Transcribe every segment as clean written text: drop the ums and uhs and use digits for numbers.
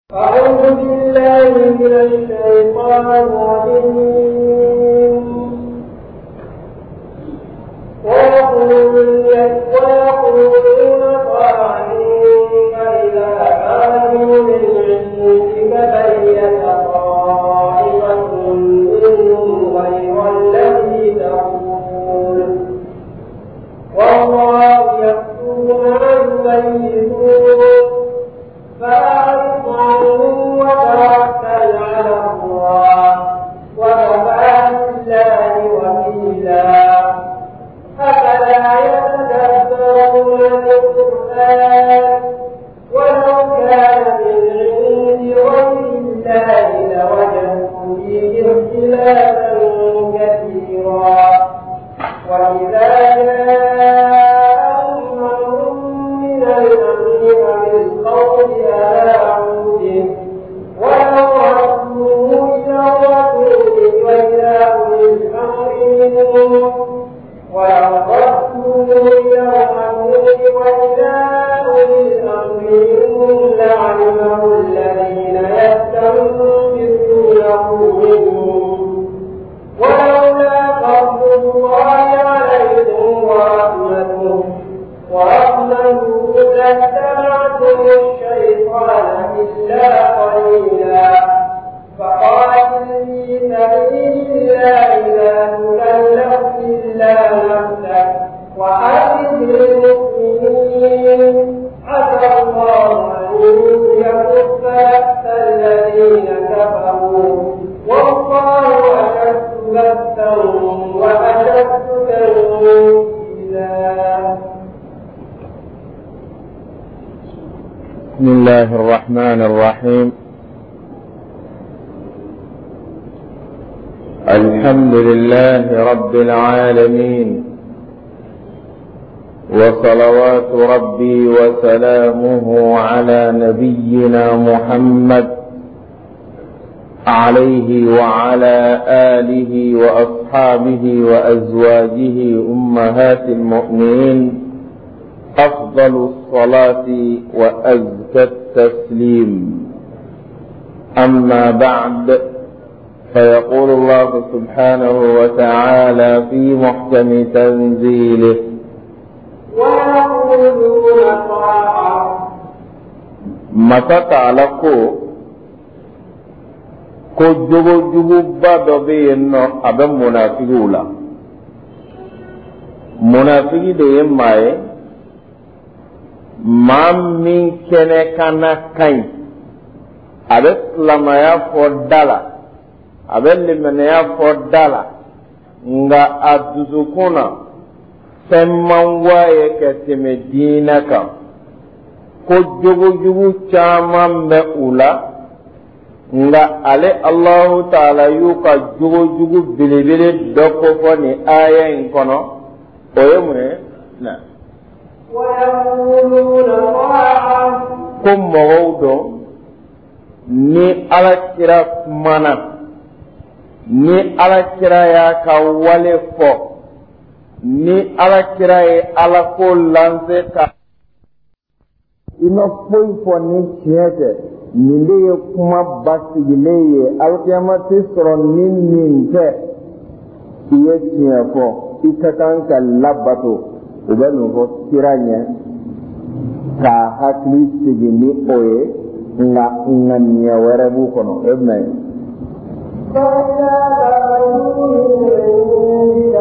أعوذ بالله من الشيطان الرجيم. ويقولون طاعين فإذا كانوا للعلم فبين طائفة منهم غير الذي تقول والله يكتب ما يبيتون فأعرض عنهم وتوكل على الله وكفى بالله وكيلا. أفلا يتدبرون القرآن ولو كان من عند غير الله لوجدوا فيه اختلافا كثيرا. وإذا جاءهم أمر من الأمر بالقول أذاعوا به ولو ردوه إلى الرسول وإلى أولي الأمر منهم لعلمه الذين يستنبطونه منهم ولولا فضل الله عليكم ورحمته لاتبعتم الشيطان إلا قليلا. فقاتل في سبيل الله لا تكلف إلا نفسك وأعد للمؤمنين عسى الله أن يكف بأس الذين كفروا والله أشد بأسا وأشد تنكيلا. بسم الله الرحمن الرحيم. الحمد لله رب العالمين وصلوات ربي وسلامه على نبينا محمد عليه وعلى آله وأصحابه وأزواجه أمهات المؤمنين أفضل الصلاة وأزكى التسليم. أما بعد، فيقول الله سبحانه وتعالى في محكم تنزيله: ويقولون طاعة متى تعلقوا كجوجو بادو بينو أبا منافقولا منافقي دي ماي ما من كنه كان كاين أبا لما يفضل abelli mene ya fodala nga aduzukuna semman waye ke teme dina kan ko jugu caman be ula nga ale Allahu ta'ala yu ka jugu bilibili doko fo ni aya in kono oye mune na ko mawdo ni ala kira kumana ni alakira ya ka wale fo ni alakira ye alako lanse ka ina foyi fo ni tiɲɛ nin de ye kuma basigilen ye alakiyama tɛ sɔrɔ ni nin tɛ i ye tiɲɛ fɔ i ka kan ka labato u bɛ nin fɔ kira ɲɛ ka hakili sigi ni o ye nka ŋaniya wɛrɛ b'u kɔnɔ e bɛna ye. فإذا كفروا تبين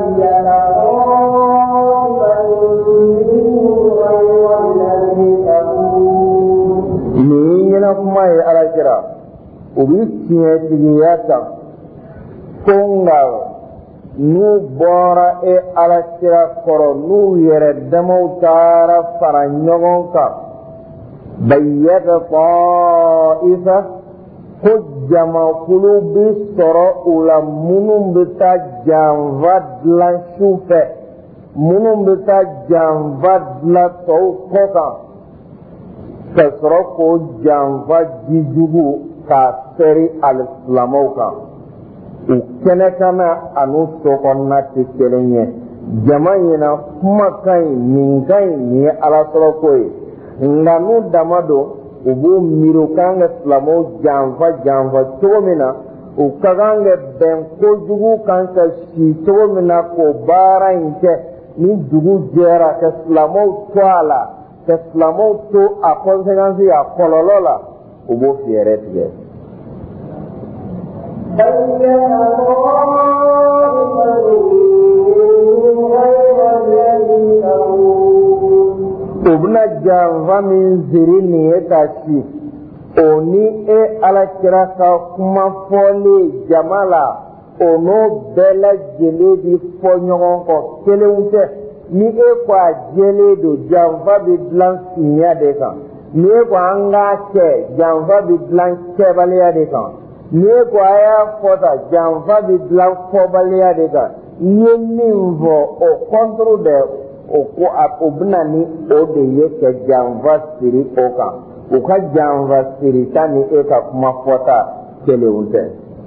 طائفة منهم غير الذي تقول. نينا كما على كرا وبيتياتياتا كونغا نو بورا اي على كرا كورو نو يردمو تارا فرانيونكا بيت طائفة ko jamakulu bi sɔrɔ u la minnu bɛ taa janfa dilan su fɛ minnu bɛ taa janfa dilan tɔw kɔ kan ka sɔrɔ k'o janfa jijugu k'a sɛri alisilamɛw kan u kɛnɛ kana ani sokɔnɔna tɛ kelen ye jama ɲɛna kuma ka ɲi nin ka ɲi nin ye alasɔrɔko ye nka n'u dama don u b'u miiri u kan ka silamɛw janfa cogo min na u ka kan ka bɛn kojugu kan ka si cogo min na k'o baara in kɛ ni dugu jɛra ka silamɛw to a la ka silamɛw to a conséquence a kɔlɔlɔ la u b'o fɛɛrɛ tigɛ. O bɛna janfa min siri nin ye ka si o ni e alakira ka kuma fɔlen jama la o n'o bɛɛ lajɛlen bi fɔ ɲɔgɔn kɔ kelenw tɛ ni e ko a jɛlen don janfa bɛ dilan finya de kan ni e ko an k'a kɛ janfa bɛ dilan kɛbaliya de kan ni e ko a y'a fɔ ta janfa bɛ dilan fɔbaliya de kan i ye min fɔ o kɔntoro dɛ o ko o bɛna ni o de ye ka janfa siri o kan u ka janfa siri ta ni e ka kuma fɔta kelenw tɛ.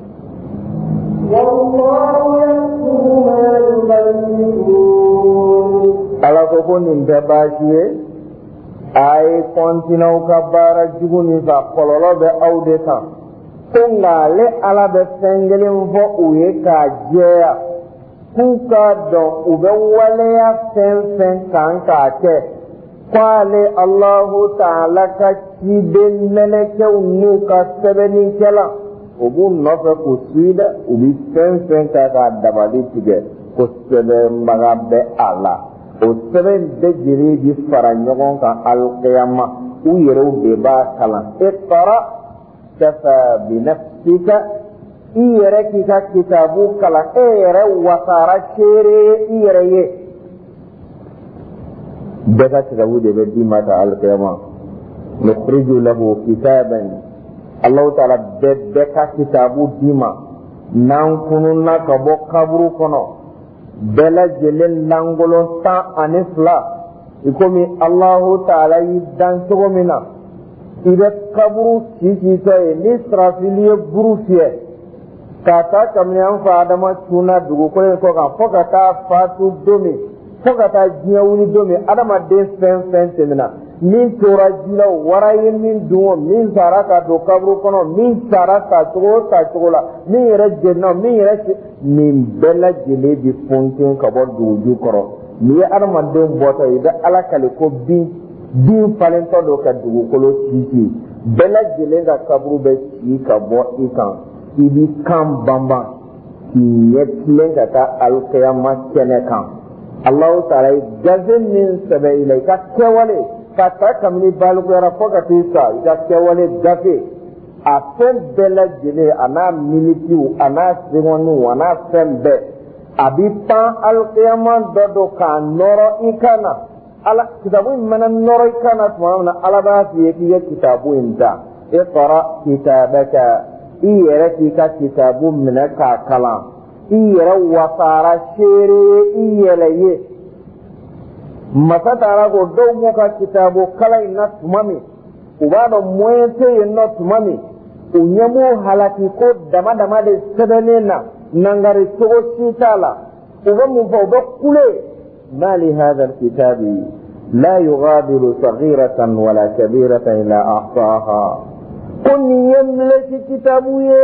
Ala ko ko nin tɛ baasi ye a ye kɔntinɛ u ka baara jugu nin kan kɔlɔlɔ bɛ aw de kan ko nka ale Ala bɛ fɛn kelen fɔ u ye k'a jɛya k'u k'a dɔn u bɛ waleya fɛn fɛn kan k'a kɛ k'ale Alahu Taala ka ciden mɛlɛkɛw n'u ka sɛbɛnnikɛla o b'u nɔfɛ k'u suyi dɛ u bɛ fɛn fɛn kɛ k'a dabali tigɛ ko sɛbɛnbaga bɛ a la o sɛbɛn bɛɛ lajɛlen bi fara ɲɔgɔn kan alikiyama u yɛrɛw de b'a kalan iqra kafa binafsika i yɛrɛ k'i ka kitabu kalan e yɛrɛ wasara seere i yɛrɛ ye bɛɛ ka kitabu de bɛ d'i ma ta alikiyama nukhriju lahu kitaban Allahu Taala bɛɛ ka kitabu d'i ma n'an kununna ka bɔ kaburu kɔnɔ bɛɛ lajɛlen langolon 12 i komi Allahu Taala y'i dan cogo min na i bɛ kaburu sisitɔ ye ni sarafili ye buru fiyɛ k'a ta kabini an fa Adama tunna dugukolo in kɔ kan fo ka taa faatu don min fo ka taa diɲɛ wuli don min adamaden fɛn fɛn tɛmɛna min tora ji la wara ye min dun o min sara ka don kaburu kɔnɔ min sara tacogo la min yɛrɛ jɛnna min yɛrɛ nin bɛɛ lajɛlen bi funten ka bɔ duguju kɔrɔ n'i ye adamaden bɔtɔ i bɛ Ala kale ko bin falentɔ don ka dugukolo sisi bɛɛ lajɛlen ka kaburu bɛ ci ka bɔ i kan i bi kan banban k'i ɲɛ tilen ka taa alikiyama kɛnɛ kan Allahu Taala ye gafe min sɛbɛn i la i ka kɛwale ka ta kabini balikuyara fo ka t'i sa i ka kɛwale gafe a fɛn bɛɛ lajɛlen a n'a minitiw a n'a secondiw a n'a fɛn bɛɛ a bi pan alikiyama dɔ don k'a nɔrɔ i kan na Ala kitabu in mana nɔrɔ i kan na tuma min na Ala b'a f'i ye k'i ye kitabu in ta iqra kitabaka i yɛrɛ k'i ka kitabu minɛ k'a kalan i yɛrɛ wasara seere i yɛlɛ ye masa taara ko dɔw b'u ka kitabu kalan in na tuma min u b'a dɔn moyen tɛ yen nɔ tuma min u ɲɛ b'u halaki ko dama dama de sɛbɛnnen na nangari cogo si t'a la u bɛ mun fɔ u bɛ kule ma li hadha alkitabi la yughadiru saghiratan wala kabiratan illa ahsaha ko nin ye milesi kitabu ye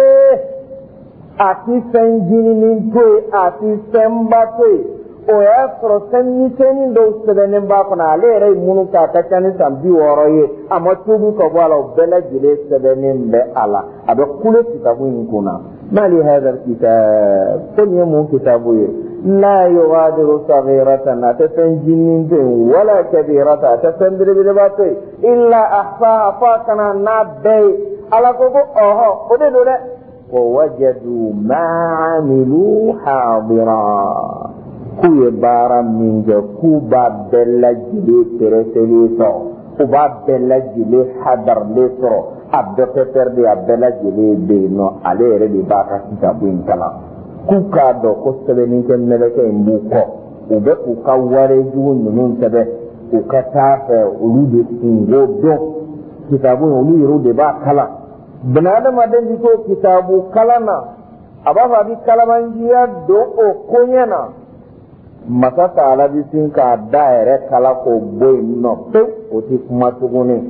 a ti fɛn ɲininin to ye a ti fɛnba to ye o y'a sɔrɔ fɛn misɛnnin dɔw sɛbɛnnen b'a kɔnɔ ale yɛrɛ ye minnu k'a ka ca ni san 60 ye a ma tuubu ka bɔ a la o bɛɛ lajɛlen sɛbɛnnen bɛ a la a bɛ kule kitabu in kunna ma li hadha alkitab ko nin ye mun kitabu ye la yughadiru saghiratan a tɛ fɛn ɲininin to yen wala kabiratan a tɛ fɛn belebeleba to yen illa ahsaha fo a kana n'a bɛɛ ye ala ko ɔhɔ o de don dɛ ووجدوا ما عملوا حاضرا k'u ye baara min kɛ k'u b'a bɛɛ lajɛlen pɛrɛsɛlen sɔrɔ u b'a bɛɛ lajɛlen hadarlen sɔrɔ a bɛɛ pɛpɛrɛ de a bɛɛ lajɛlen bɛ yen nɔ ale yɛrɛ de b'a ka kitabu in kalan k'u k'a dɔn ko sɛbɛnnikɛ mɛlɛkɛ in b'u kɔ u bɛ k'u ka warejugu ninnu sɛbɛn u ka taa fɛ olu de kungo dɔn kitabu in olu yɛrɛ de b'a kalan bani adamaden bi to kitabu kalan na a b'a fɔ a bɛ kalabanjiya don o koɲɛ na masa Taala bi sin k'a da yɛrɛ kala k'o bɔ yen nɔ pewu o tɛ kuma tuguni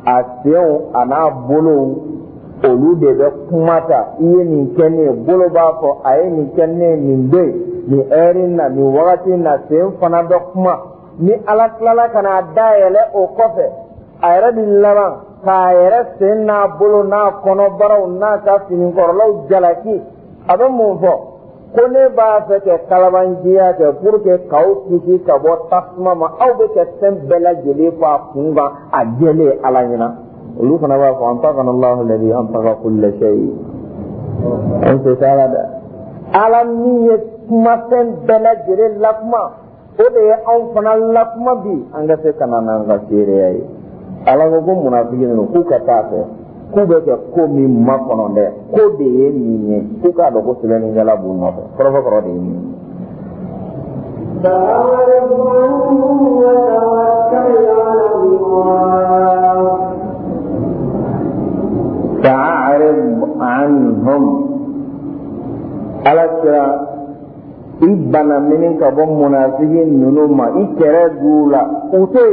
a senw a n'a bolow olu de bɛ kuma ta i ye nin kɛ ne ye bolo b'a fɔ a ye nin kɛ ne ye nin don nin heure na nin wagati na sen fana bɛ kuma ni ala tilala ka n'a dayɛlɛ o kɔfɛ a yɛrɛ bi laban k'a yɛrɛ sen n'a bolo n'a kɔnɔbaraw n'a ka finikɔrɔlaw jalaki a bɛ mun fɔ ko ne b'a fɛ kɛ kalabanjiya kɛ pour que k'aw kisi ka bɔ tasuma ma aw bɛ kɛ fɛn bɛɛ lajɛlen fɔ a kun kan a jɛlen ala ɲɛna olu fana b'a fɔ antaqana Allahu alladhi antaqa kulla shay an se taala dɛ ala min ye kumafɛn bɛɛ lajɛlen lakuma o de ye anw fana lakuma bi an ka se ka na n'an ka seereya ye ala ko ko munafiki ninnu k'u ka taa fɛ k'u bɛ kɛ ko min makɔnɔ dɛ ko de ye nin ye k'u k'a dɔn ko sɛbɛnnikɛla b'u nɔfɛ kɔrɔfɔ de ye nin ye. فأعرض عنهم على كرا إبنا منين كبر منافقين ننوما إكرا دولا أوتي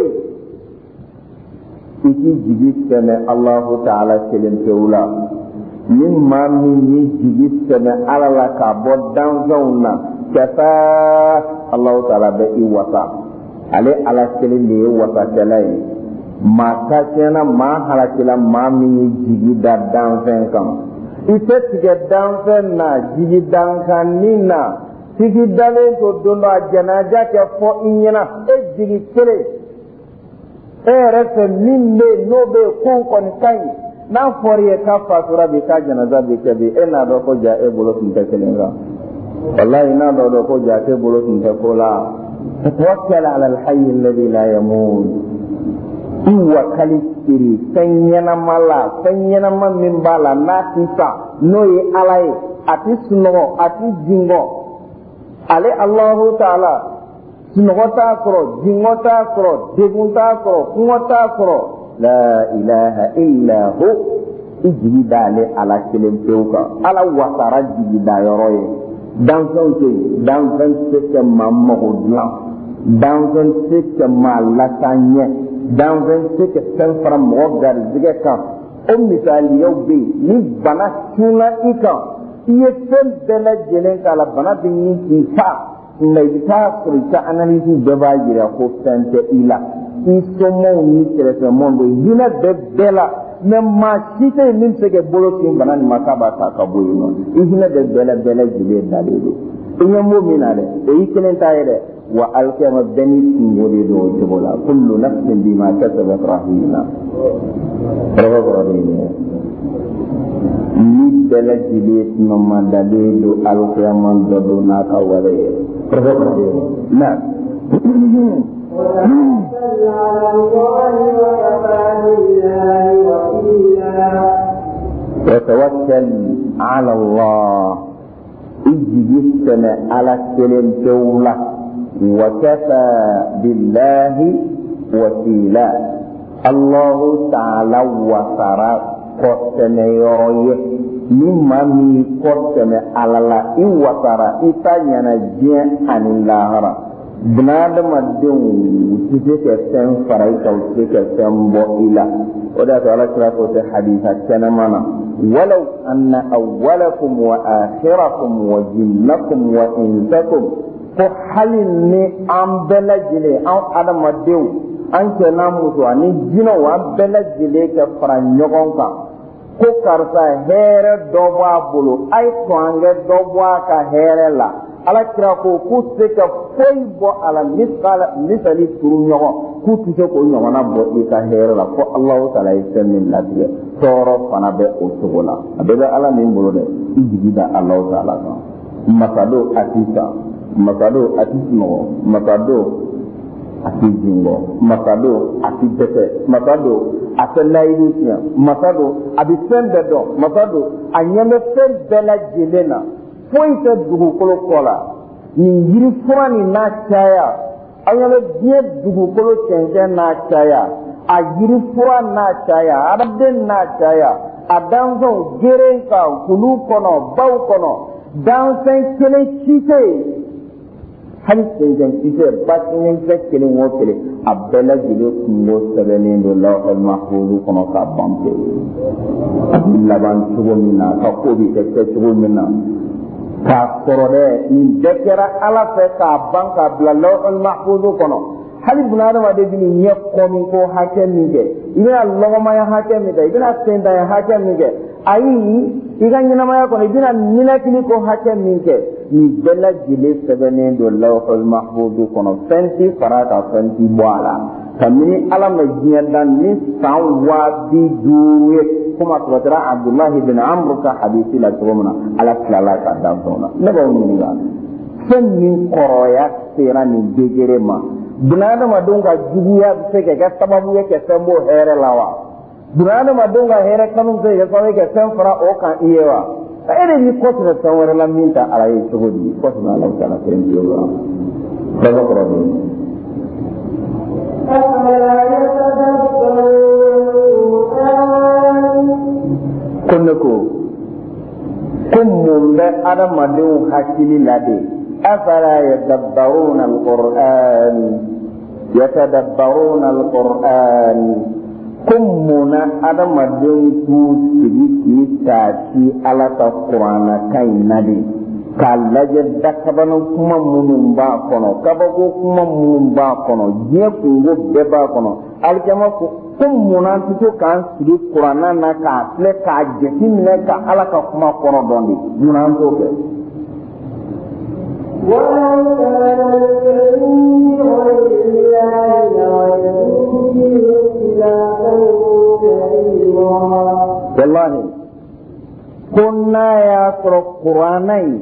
إكي جيجي سنة الله تعالى كلم كولا مما مني جيجي سنة على لك بدان زونا كفا الله تعالى بإي وطا على كلم لي وطا كلاي ma kasiyana ma halakila ma min ye jigi da danfɛn kan i tɛ tigɛ danfɛn na jigi dankanni na tigi dalen to don dɔ a janaja kɛ fɔ i ɲɛna e jigi kelen e yɛrɛ fɛ min bɛ yen n'o bɛ yen ko kɔni ka ɲi n'a fɔra i ye k'a fatura bi k'a janaza bi kɛ bi e n'a dɔn ko ja e bolo tun tɛ kelen kan walahi n'a dɔn ko ja e bolo tun tɛ ko la tawakkal ala alhayy alladhi la yamut i wakali siri fɛn ɲɛnama la fɛn ɲɛnama min b'a la n'a ti sa n'o ye ala ye a ti sunɔgɔ a ti jingɔ ale Allahu Taala sunɔgɔ t'a sɔrɔ jingɔ t'a sɔrɔ degun t'a sɔrɔ kɔngɔ t'a sɔrɔ la ilaha illa hu i jigi d'ale ala kelen pewu kan ala wasara jigi da yɔrɔ ye danfɛnw tɛ yen danfɛn tɛ kɛ maa mago dilan danfɛn tɛ kɛ maa lataa ɲɛ danfɛn tɛ kɛ fɛn fara mɔgɔ garijɛgɛ kan o misaliyaw bɛ yen ni bana cunna i kan i ye fɛn bɛɛ lajɛlen k'a la bana bɛ ɲini k'i fa nka i bɛ taa sɔrɔ i ka analyse bɛɛ b'a jira ko fɛn tɛ i la i somɔgɔw ni kɛrɛfɛmɔgɔw bɛ hinɛ bɛ bɛɛ la mɛ maa si tɛ yen min bɛ se ka bolo sin bana nin ma k'a b'a ta ka bɔ yen nɔ i hinɛ bɛ bɛɛ lajɛlen dalen don i ɲɛ m'o min na dɛ o y'i kelen ta ye dɛ wa alikiyama bɛɛ ni kungo de don o cogo la kullu nafsin bima kasabat rahina kɔrɔkɔrɔ de ye ni bɛɛ lajɛlen tuma dalen don alikiyama dɔ don n'a ka wale ye kɔrɔkɔrɔ de ye na. وتوكل على الله اجي سنة على كلم دولة وكفى بالله وكيلا الله تعالى وسرى قسم يرويه مما مي قسم على الله إن وسرى إتانينا جين عن الله bnadamadenw ti se ka fɛn fara i kan u ti se ka fɛn bɔ i la o de y'a to ala kira ko tɛ hadisa kɛnɛma na walaw anna awwalakum wa akhirakum wa jinnakum wa insakum ko hali ni an bɛɛ lajɛlen an adamadenw an cɛ n'a muso ani jinɛw an bɛɛ lajɛlen ka fara ɲɔgɔn kan ko karisa hɛrɛ dɔ b'a bolo a ye sɔn an kɛ dɔ bɔ a ka hɛrɛ la ala kira ko k'u tɛ se ka foyi bɔ a la misali turu ɲɔgɔn k'u tɛ se k'o ɲɔgɔnna bɔ i ka hɛrɛ la fo Alahu Taala ye fɛn min latigɛ tɔɔrɔ fana bɛ o cogo la a bɛɛ bɛ ala min bolo dɛ i jigi da Alahu Taala kan masado a ti san masado a ti sunɔgɔ masado a ti jingɔ masado a ti dɛsɛ masado a tɛ layidu tiɲɛ masado a bɛ fɛn bɛɛ dɔn masado a ɲɛ bɛ fɛn bɛɛ lajɛlen na foyi tɛ dugukolo kɔ la nin yiri fura nin n'a caya an ɲɛ bɛ diɲɛ dugukolo cɛncɛn n'a caya a yiri fura n'a caya adamaden n'a caya a danfɛnw geren kan kulu kɔnɔ baw kɔnɔ danfɛn kelen si tɛ yen hali senjɛnkisɛ basiɲɛnkisɛ kelen o kelen a bɛɛ lajɛlen kungo sɛbɛnnen don lawhul mahfuz kɔnɔ k'a ban pewu a bɛ laban cogo min na a ka ko bɛ kɛ cogo min na k'a sɔrɔ dɛ nin bɛɛ kɛra ala fɛ k'a ban k'a bila lawhul mahfuz kɔnɔ hali bunadamaden bɛ nin ɲɛ kɔmi ko hakɛ min kɛ i bɛna lɔgɔmaya hakɛ min kɛ i bɛna sentanya hakɛ min kɛ ayi i ka ɲɛnamaya kɔnɔ i bɛna ninakili ko hakɛ min kɛ nin bɛɛ lajɛlen sɛbɛnnen don lawhul mahfuz kɔnɔ fɛn tɛ fara kan fɛn tɛ bɔ a la kabini ala ma diɲɛ dan ni san 50,000 ye komi a sɔrɔtara abdulahi bin amru ka hadisi la cogo min na ala tilala ka dan fɛnw na ne b'aw ɲininka fɛn min kɔrɔya sera nin degré ma bunadamadenw ka juguya bɛ se ka kɛ sababu ye ka fɛn bɔ hɛrɛ la wa bunadamadenw ka hɛrɛ kanu bɛ se ka kɛ sababu ye ka fɛn fara o kan i ye wa e de b'i kɔsɛbɛ fɛn wɛrɛ la min ta ala ye cogo di kɔsɛbɛ ala taala fɛn tɛ o la bɛɛ kɔrɔ bɛ yen. ko ne ko mun bɛ adamadenw hakili la de afala yadabbaruna alquran yatadabbaruna alquran ko munna adamadenw t'u sigi k'i taati ala ka kuranna kan in na de k'a lajɛ dakabana kuma minnu b'a kɔnɔ kabako kuma minnu b'a kɔnɔ diɲɛ kungo bɛɛ b'a kɔnɔ alikiyama ko munna an tɛ to k'an sigi kuranna na k'a filɛ k'a jateminɛ ka ala ka kuma kɔnɔ dɔn de munna an t'o kɛ. wallahi ko n'a y'a sɔrɔ kuranna in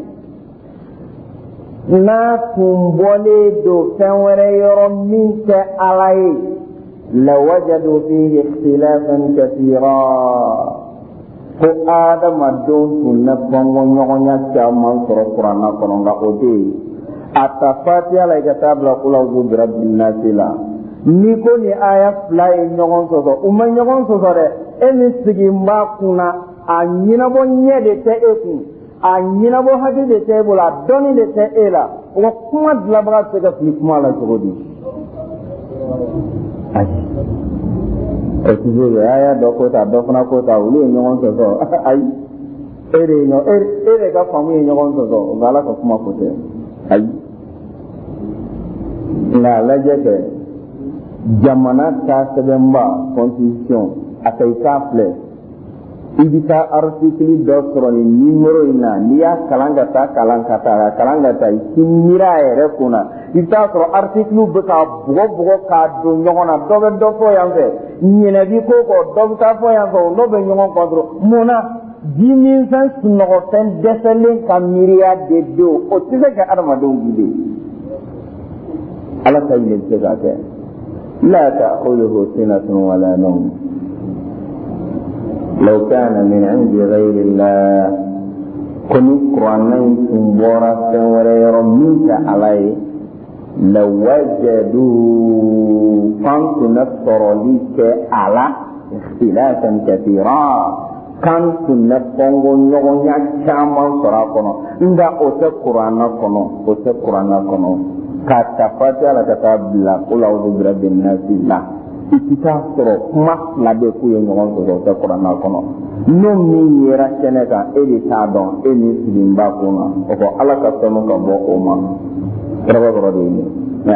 n'a tun bɔlen don fɛn wɛrɛ yɔrɔ min tɛ ala ye lawajadu fihi ikhtilafan kathira ko adamadenw tun na bɔngɔɲɔgɔnya caman sɔrɔ kuranna kɔnɔ nka o tɛ yen a ta fatiha la i ka taa bila qul a'udhu bi rabbin nas la ni ko ni aya fila ye ɲɔgɔn sɔsɔ u ma ɲɔgɔn sɔsɔ dɛ e min sigi n b'a kunna a ɲɛnabɔ ɲɛ de tɛ e kun a ɲɛnabɔ hakili de tɛ e bolo a dɔnni de tɛ e la o ka kuma dilanbaga tɛ se ka fili kuma la cogo di. ayi o ti se aya dɔ ko ta dɔ fana ko ta olu ye ɲɔgɔn sɔsɔ ayi e de ka faamu ye ɲɔgɔn sɔsɔ o nka ala ka kuma ko tɛ ayi nka lajɛ kɛ jamana ta sɛbɛnba constitution a ka i k'a filɛ i bɛ taa article dɔ sɔrɔ nin numéro in na n'i y'a kalan ka taa i k'i miiri a yɛrɛ kunna i bɛ taa sɔrɔ article bɛ ka bugɔ k'a don ɲɔgɔn na dɔ bɛ dɔ fɔ yan fɛ ɲinɛ ko kɔ dɔ bɛ taa fɔ yan fɛ o n'o bɛ ɲɔgɔn kɔ dɔrɔn mun na jiminfɛn sunɔgɔfɛn dɛsɛlen ka miiriya de don o tɛ se ka adamadenw guide ala ta ɲinɛ tɛ se k'a kɛ. لا تأخذه سنة ولا نوم لو كان من عند غير الله كن قرآن سنبورا سنورا يرميك عليه لوجدوا كنت نصر لك على اختلافا كثيرا كنت نصر نغنيا كاما صراطنا إن أتى قرآن كنو kata fatiha la kata bila qul a'udhu bi rabbin nas la ikita sɔrɔ kuma fila bɛ k'u ye ɲɔgɔn sɔrɔ o tɛ kuranna kɔnɔ n'o min yera kɛnɛ kan e de t'a dɔn e min sigilen b'a kun na o ko ala ka sɔnni ka bɔ o ma kɔrɔbɔrɔ de ye nin ye.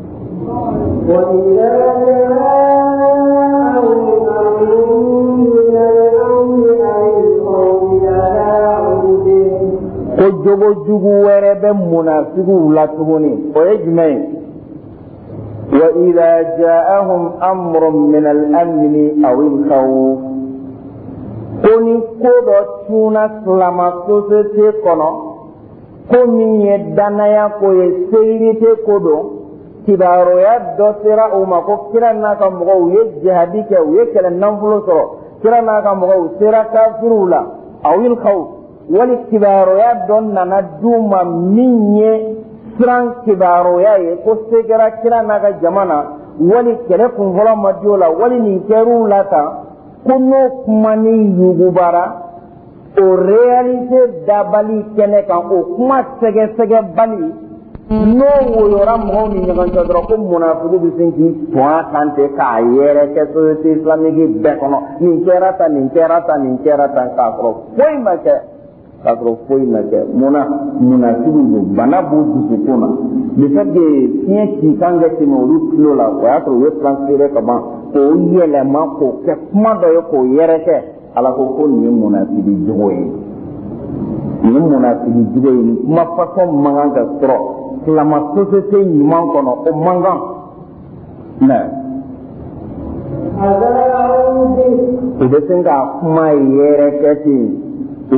ko jogo jugu wɛrɛ bɛ munafigiw la tuguni o ye jumɛn ye wa idha ja'ahum amrun min al-amni aw al-khawf ko ni ko dɔ cunna silama société kɔnɔ ko min ye danaya ko ye sécurité ko don kibaruya dɔ sera o ma ko kira n'a ka mɔgɔw u ye jihadi kɛ u ye kɛlɛ nafolo sɔrɔ kira n'a ka mɔgɔw u sera kafiriw la aw al-khawf wali kibaruya dɔ nana d'u ma min ye siran kibaruya ye ko se kɛra kira n'a ka jama na wali kɛlɛ kunfɔlɔ ma di o la wali nin kɛr'u la tan ko n'o kuma ni yugubara o réalité dabali kɛnɛ kan o kuma sɛgɛsɛgɛbali n'o woyora mɔgɔw ni ɲɔgɔn cɛ dɔrɔn ko munafiku bɛ sin k'i tɔn kan ten k'a yɛrɛ kɛ société islamique bɛɛ kɔnɔ nin kɛra tan nin kɛra tan nin kɛra tan k'a sɔrɔ foyi ma kɛ munafiku don bana b'u dusukun na le fait que fiɲɛ ci kan ka tɛmɛ olu tulo la o y'a sɔrɔ u ye transféré ka ban k'o yɛlɛma k'o kɛ kuma dɔ ye k'o yɛrɛ kɛ ala ko nin ye munafiki jogo ye nin munafiki jogo ye nin kuma façon man kan ka sɔrɔ silama société ɲuman kɔnɔ o man kan u bɛ sin ka kuma yɛrɛ kɛ ten o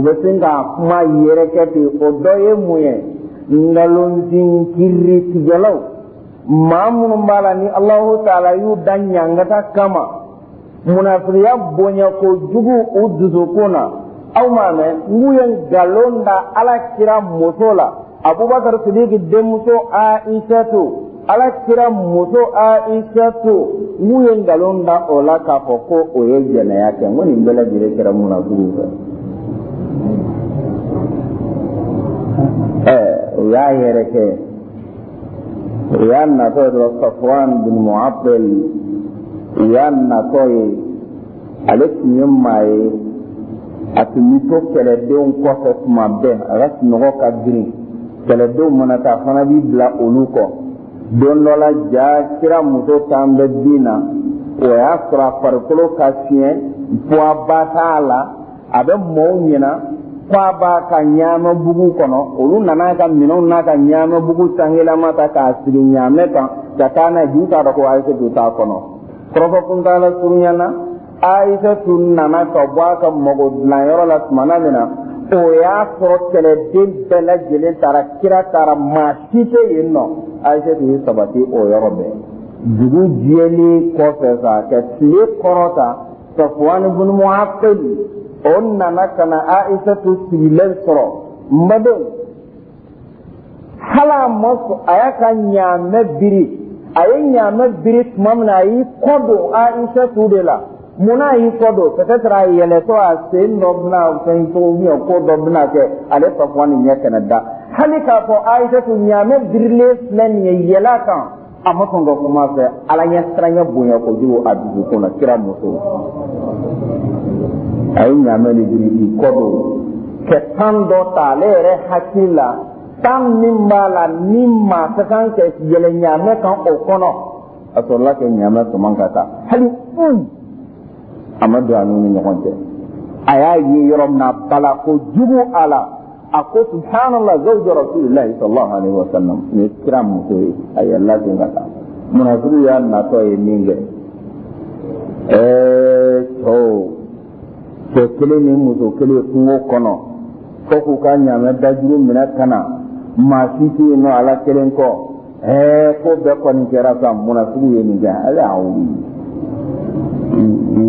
dɔ ye mun ye nkalontin kiiritigɛlaw maa minnu b'a la ni Alahu Taala y'u da ɲangata kama munafikiya bonya kojugu u dusukun na aw m'a mɛn n'u ye nkalon da Alakira muso la Abubakar Sidiki denmuso Aisatu Alakira muso Aisatu n'u ye nkalon da o la k'a fɔ ko o ye jɛnɛya kɛ n ko nin bɛɛ lajɛlen kɛra munafikiw fɛ. O y'a yɛrɛ kɛ o y'a natɔ ye dɔrɔn Safwan bin Mu'attal o y'a natɔ ye ale tun ye maa ye a tun bɛ to kɛlɛdenw kɔfɛ tuma bɛɛ a ka sunɔgɔ ka girin kɛlɛdenw mana taa fana b'i bila olu kɔ don dɔ la ja kira muso tan bɛ bin na o y'a sɔrɔ a farikolo ka fiɲɛ poids t'a la a bɛ mɔɔw ɲɛna k'a b'a ka ɲaamɛ bugu kɔnɔ olu nana ka minɛnw n'a ka ɲaamɛ bugu sangilama ta k'a sigi ɲaamɛ kan ka taa n'a ye ju t'a dɔn ko Aisatu t'a kɔnɔ kɔrɔfɔ kuntala surunyana Aisatu nana ka bɔ a ka mago dilanyɔrɔ la tumana min na o y'a sɔrɔ kɛlɛden bɛɛ lajɛlen taara kira taara maa si tɛ yen nɔ Aisatu ye sabati o yɔrɔ bɛɛ dugu jɛlen kɔfɛ sa ka tile kɔrɔta Safwan bin Mu'attal o nana ka na Aisatu sigilen sɔrɔ mbadenw hali a ma sɔn a y'a ka ɲaamɛ biri a ye ɲaamɛ biri tuma min na a y'i kɔ don Aisatu de la mun na a y'i kɔ don peut-être a yɛlɛtɔ a sen dɔ bɛna fɛn cogo bien ko dɔ bɛna kɛ ale Safwan ɲɛ kɛnɛ da hali k'a fɔ Aisatu ɲaamɛ birilen filɛ nin ye yɛlɛ a kan a ma sɔn ka kuma fɛ Ala ɲɛ siranɲɛ bonya kojugu a dusukun na kira muso a ye ɲaamɛ de biri k'i kɔ don kɛ tan dɔ ta ale yɛrɛ hakili la tan min b'a la ni maa ka kan ka yɛlɛ ɲaamɛ kan o kɔnɔ a sɔrɔla ka ɲaamɛ tɔmɔ ka taa hali a ma don a n'u ni ɲɔgɔn cɛ a y'a ye yɔrɔ min na bala kojugu a la a ko subhanallah zawju rasulillahi sallallahu alaihi wa sallam ni kira muso ye a yɛlɛla ten ka taa munafikiw y'a natɔ ye min kɛ cɛ kelen ni muso kelen kungo kɔnɔ fo k'u ka ɲaamɛ dajuru minɛ ka na maa si tɛ yen nɔ ala kelen kɔ ko bɛɛ kɔni kɛra sa munafikiw ye nin kɛ ale y'a wuli u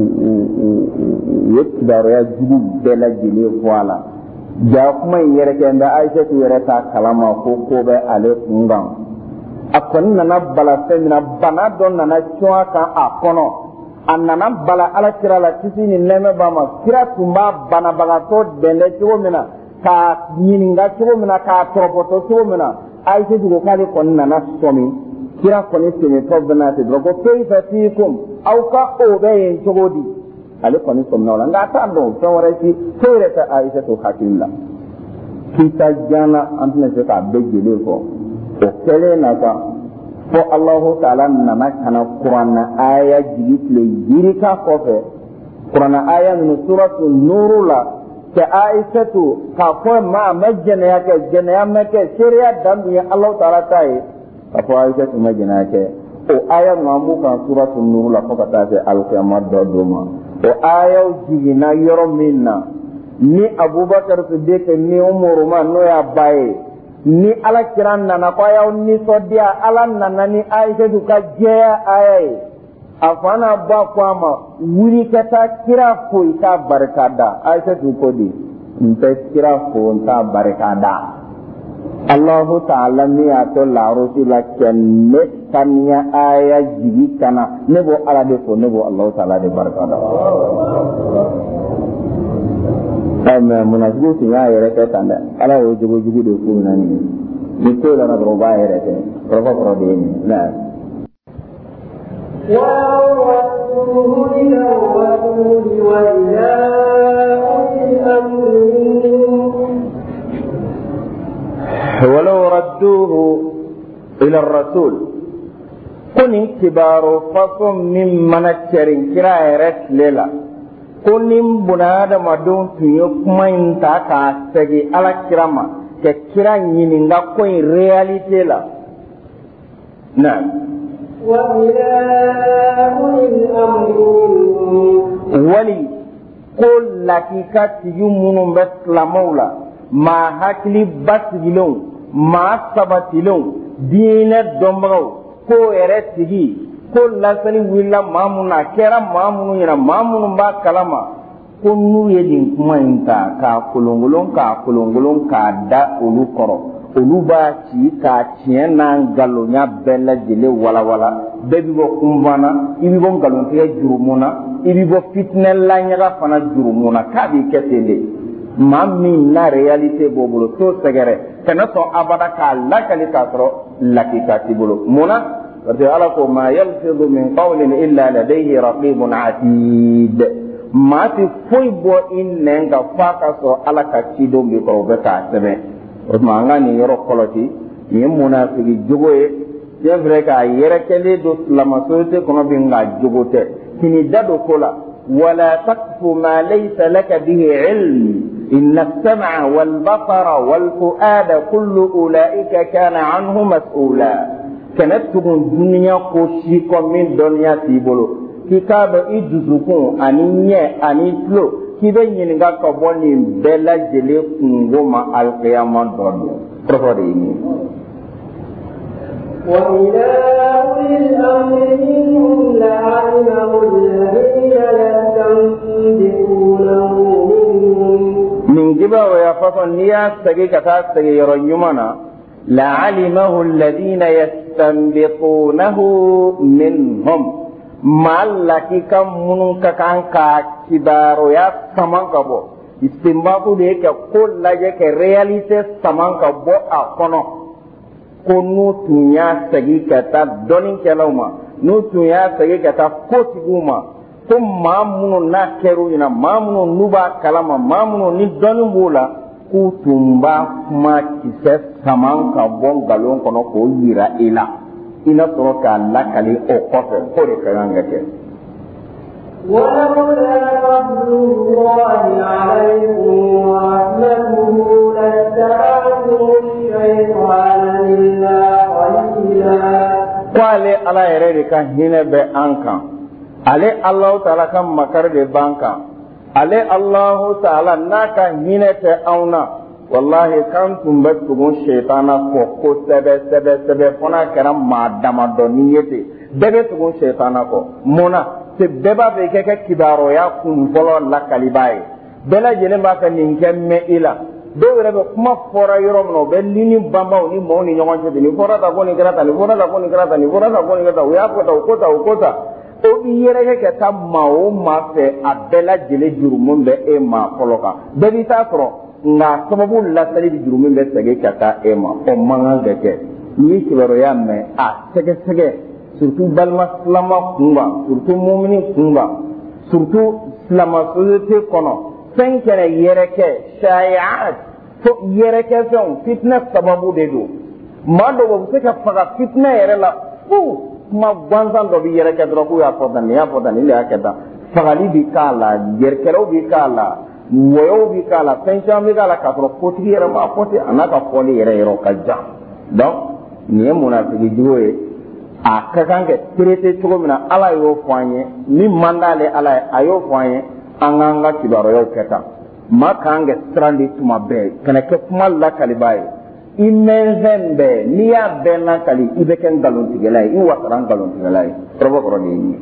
ye kibaruya jugu bɛɛ lajɛlen fɔ a la ja kuma in yɛrɛ kɛ nka Aisatu yɛrɛ t'a kalama ko bɛ ale kun kan a kɔni nana bala fɛn min na bana dɔ nana cun a kan a kɔnɔ a nana bala Alakira la kisi ni nɛɛmɛ b'a ma kira tun b'a banabagatɔ dɛndɛ cogo min na k'a ɲininka cogo min na k'a tɔrɔpɔtɔ cogo min na Aisatu ko k'ale kɔni nana sɔmi kira kɔni tɛmɛtɔ bɛ n'a ten dɔrɔn ko kayfa fiikum aw ka o bɛ yen cogo di ale kɔni sɔmina o la nka a t'a dɔn fɛn wɛrɛ si foyi yɛrɛ tɛ Aisatu hakili la kita janna an tɛna se k'a bɛɛ jeli fɔ o kɛlen na kan fo Alahu Taala nana kana kuranna aya jigi tile yirika kɔfɛ kuranna aya ninnu suratu Nuru la cɛ Aisatu k'a fɔ ma a ma jɛnɛya kɛ jɛnɛya ma kɛ seereya dan dun ye Alahu Taala ta ye k'a fɔ Aisatu ma jɛnɛya kɛ o aya ninnu an b'u kan suratu Nuru la fo ka taa se alikiyama dɔ don ma o ayaw jiginna yɔrɔ min na ni Abubakar Sidiki ni Umaru ma n'o y'a ba ye ni Alakira nana ko a y'aw nisɔndiya Ala nana ni Aisatu ka jɛya aya ye a fa n'a ba ko a ma wuli ka taa kira fo i k'a barika da Aisatu ko di n tɛ kira fo n t'a barika da Allahu Taala min y'a to laharosi la kɛ ne saniya aya jigi kana ne b'o Ala de fo ne b'o Allahu Taala de barika da mais munafikiw tun y'a yɛrɛ kɛ tan dɛ Ala y'o jogo jugu de f'u ɲɛna nin بكل نظر باهرة رفض دين نعم وأوصوه إلى الرسول وإلى أولي الأمر ولو ردوه إلى الرسول كن كبار فصم من منشر كرايرت ليلا كن بنادم دون تيوكمين تاكا سجي على كراما كرا ينينغا كوين رياليتي لا نعم وإلى أولي الأمر ولي قل لك كاتيومون بسلامولا ما هكلي بسجلون ما سبتلون دين الدمرو كو ارتجي كل لسني ولا مامونا كرا مامونو ينا مامونو با كلاما كنو يدين كما انتا كا كولونغولون كا دا اولو كورو اولو با تي كا تينا غالو نيا بلا جيلي ولا ولا بيبي بو كومبانا يبي بو غالون تي جورومونا يبي بو فتنه لا نيا فانا جورومونا كابي كتيلي مامي نا رياليتي بوبولو تو سغره كنتو ابدا كا لا كالي كاترو لكي كاتبولو مونا ورجع ما يلفظ من قول الا لديه رقيب عتيد ما في فوي بو ان نغا فاكاسو على كاتيدو بيكو بكا سبه ما غاني يرو كولوتي ني منافقي جوغوي يفريكا يركلي دو لما سوتي كونو بينغا جوغوتي كني دادو كولا ولا تقف ما ليس لك به علم إن السمع والبصر والفؤاد كل أولئك كان عنه مسؤولا كانت تكون دنيا كوشيكو من دنيا تيبولو كتاب إجزوكو أنيني أنيتلو كيبه ينغا كبوني بلا جلي كنغوما القيامة دوني رفضيني وإلى أولي الأمر منهم لعلمه الذين يستنبطونه منهم من جبا ويفصل نيا سجي كتا سجي يرنيمنا لعلمه الذين يستنبطونه منهم ما لكي كم منك كان كبار يا سمان كبو استنباطو ديك كل لجك رياليتي سمان كبو أكونو كنو تنيا سجي كتا دونين كلاوما نو تنيا سجي كتا كوتيغوما ko maa minnu n'a kɛra u ɲɛna maa minnu n'u b'a kalama maa minnu ni dɔnni b'u la k'u tun b'a kuma kisɛ sama ka bɔ nkalon kɔnɔ k'o yira i la i na sɔrɔ k'a lakali o kɔfɛ k'o de ka kan ka kɛ. ولولا فضل الله عليكم ورحمته لاتبعتم الشيطان إلا قليلا. k'ale ala yɛrɛ de ka hinɛ bɛ an kan. ale Allahu Ta'ala ka makar de banka ale Allahu Ta'ala n'a ka hinɛ tɛ anw na wallahi kan tun bɛ tugun shaytana kɔ kosɛbɛ fana kɛra maa damadɔni ye ten bɛɛ bɛ tugun shaytana kɔ mun na se bɛɛ b'a fɛ i kɛ kibaruya kun fɔlɔ lakaliba ye bɛɛ lajɛlen b'a fɛ nin kɛ mɛn i la dɔw yɛrɛ bɛ kuma fɔra yɔrɔ min na u bɛ lini banbaw ni maaw ni ɲɔgɔn cɛ ten nin fɔra ta ko nin kɛra tan nin fɔra ta ko nin kɛra tan nin fɔra ta ko nin kɛra tan u y'a fɔ tan o ko ta o i yɛrɛ kɛ taa maa o maa fɛ a bɛɛ lajɛlen jurumun bɛ e maa fɔlɔ kan bɛɛ b'i taa sɔrɔ nka sababu lasali di jurumun bɛ segin ka taa e ma o man kan ka kɛ n'i ye kibaruya mɛn a sɛgɛsɛgɛ surtout balima silama kunkan surtout mumini kunkan surtout silama société kɔnɔ fɛn kɛra yɛrɛkɛ shayat fo yɛrɛkɛ fɛnw fitinɛ sababu de don maa dɔw bɛ se ka faga fitinɛ yɛrɛ la fu kuma gansan dɔ bɛ yɛrɛ kɛ dɔrɔn k'u y'a fɔ tan nin y'a fɔ tan nin de y'a kɛ tan fagali bɛ k'a la yɛrɛkɛlaw bɛ k'a la wɔyɔw bɛ k'a la fɛn caman bɛ k'a la k'a sɔrɔ kotigi yɛrɛ m'a fɔ ten a n'a ka fɔli yɛrɛ yɔrɔ ka jan donc nin ye munafiki jugu ye a ka kan ka traité cogo min na ala y'o fɔ an ye min man d'ale ala ye a y'o fɔ an ye an k'an ka kibaruyaw kɛ tan maa kan ka siran de tuma bɛɛ kana kɛ kuma lakaliba ye i mɛn fɛn bɛɛ n'i y'a bɛɛ lakali i bɛ kɛ nkalontigɛla ye i wasara nkalontigɛla ye kɔrɔbɔ kɔrɔ de ye nin ye.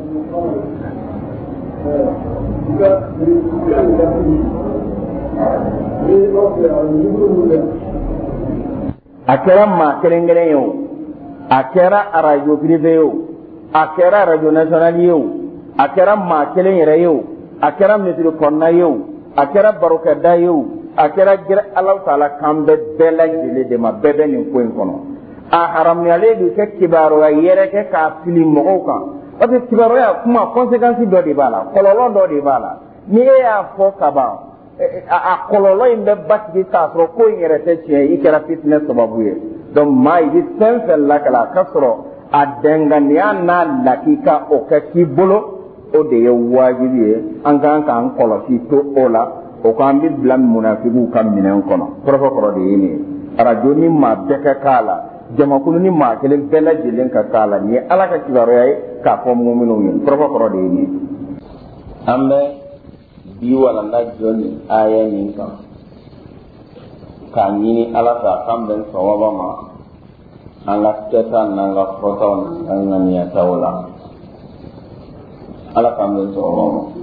a kɛra maa kelen-kelen ye o a kɛra arajo privé ye o a kɛra arajo national ye o a kɛra maa kelen yɛrɛ ye o a kɛra misiri kɔnɔna ye o a kɛra barokɛda ye o akira gira Allah taala kambe bela jile de ma bebe ni ko en kono a haram yale du ke kibaro ya yere ke ka fili mo kan parce que kibaro ya kuma conséquence do de bala kololo do de bala ni ya fo kaba a kololo imbe batgi ta so ko yere te che ikera fitness sababu ye donc mai di senfel la kala kasro a dengania na lakika o ka kibolo o de ye wajibi ye an kan kan kolosi to ola o kan bi blam munafiqu kam minen kono profokoro de yini radio ni ma beka kala jama kunu ni ma kelen bela jilen ka kala ni ala ka kibaro yai ka fo mu'minu yin profokoro de yini ambe bi wala na joni aya ni ka ni ala ta kam ben sawaba ma ala teta nanga foton nanga niya tawla ala kam ben sawaba